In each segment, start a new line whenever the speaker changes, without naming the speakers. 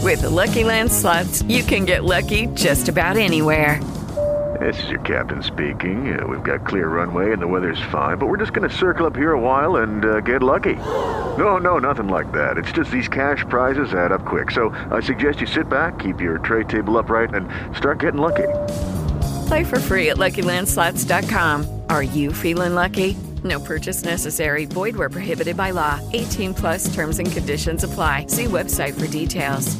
With the Lucky Land Slots, you can get lucky just about anywhere.
This is your captain speaking. We've got clear runway and the weather's fine, but we're just going to circle up here a while and get lucky. No, nothing like that. It's just these cash prizes add up quick. So I suggest you sit back, keep your tray table upright, and start getting lucky.
Play for free at LuckyLandSlots.com. Are you feeling lucky? No purchase necessary. Void where prohibited by law. 18 plus terms and conditions apply. See website for details.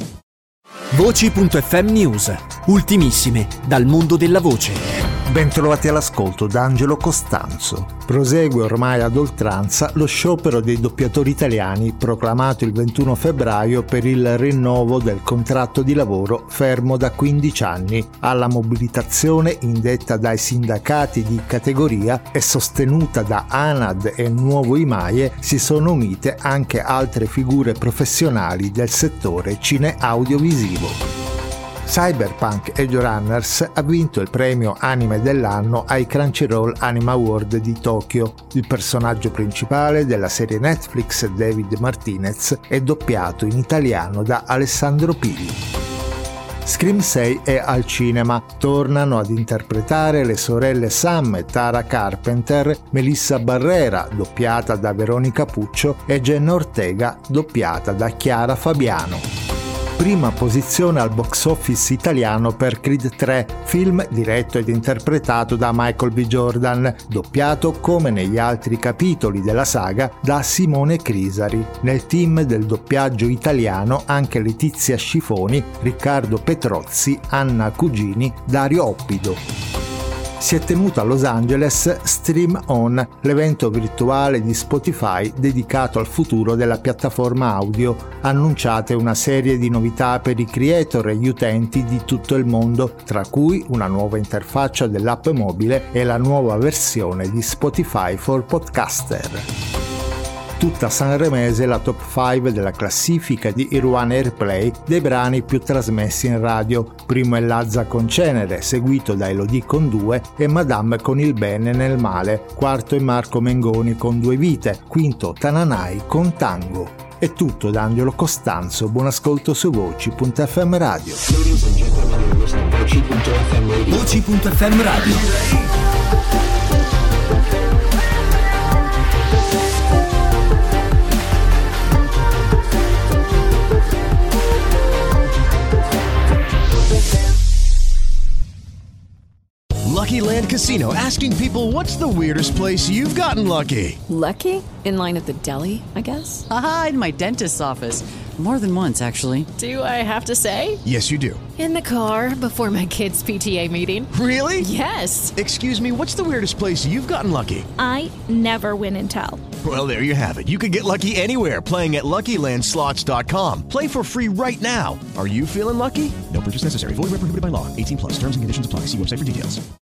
Voci.fm News. Ultimissime dal mondo della voce.
Bentrovati all'ascolto da Angelo Costanzo. Prosegue ormai ad oltranza lo sciopero dei doppiatori italiani proclamato il 21 febbraio per il rinnovo del contratto di lavoro fermo da 15 anni. Alla mobilitazione indetta dai sindacati di categoria e sostenuta da ANAD e Nuovo IMAIE si sono unite anche altre figure professionali del settore cine-audiovisivo. Cyberpunk Edge Runners ha vinto il premio Anime dell'anno ai Crunchyroll Anime Award di Tokyo. Il personaggio principale della serie Netflix, David Martinez, è doppiato in italiano da Alessandro Pilli. Scream 6 è al cinema. Tornano ad interpretare le sorelle Sam e Tara Carpenter, Melissa Barrera, doppiata da Veronica Puccio, e Jenna Ortega, doppiata da Chiara Fabiano. Prima posizione al box office italiano per Creed 3, film diretto ed interpretato da Michael B. Jordan, doppiato come negli altri capitoli della saga da Simone Crisari. Nel team del doppiaggio italiano anche Letizia Scifoni, Riccardo Petrozzi, Anna Cugini, Dario Oppido. Si è tenuto a Los Angeles Stream On, l'evento virtuale di Spotify dedicato al futuro della piattaforma audio. Annunciate una serie di novità per i creator e gli utenti di tutto il mondo, tra cui una nuova interfaccia dell'app mobile e la nuova versione di Spotify for Podcaster. Tutta sanremese la top 5 della classifica di Irwan Airplay dei brani più trasmessi in radio. Primo è Lazza con Cenere, seguito da Elodie con 2 e Madame con Il bene nel male. Quarto è Marco Mengoni con 2 vite. Quinto Tananai con Tango. È tutto da Angelo Costanzo, buon ascolto su Voci.fm Radio.
Voci.fm Radio.
Lucky Land Casino, asking people, what's the weirdest place you've gotten lucky?
Lucky? In line at the deli, I guess?
Aha, in my dentist's office. More than once, actually.
Do I have to say?
Yes, you do.
In the car before my kids' PTA meeting.
Really?
Yes.
Excuse me, what's the weirdest place you've gotten lucky?
I never win and tell.
Well, there you have it. You can get lucky anywhere, playing at LuckyLandSlots.com. Play for free right now. Are you feeling lucky? No purchase necessary. Void where prohibited by law. 18 plus. Terms and conditions apply. See website for details.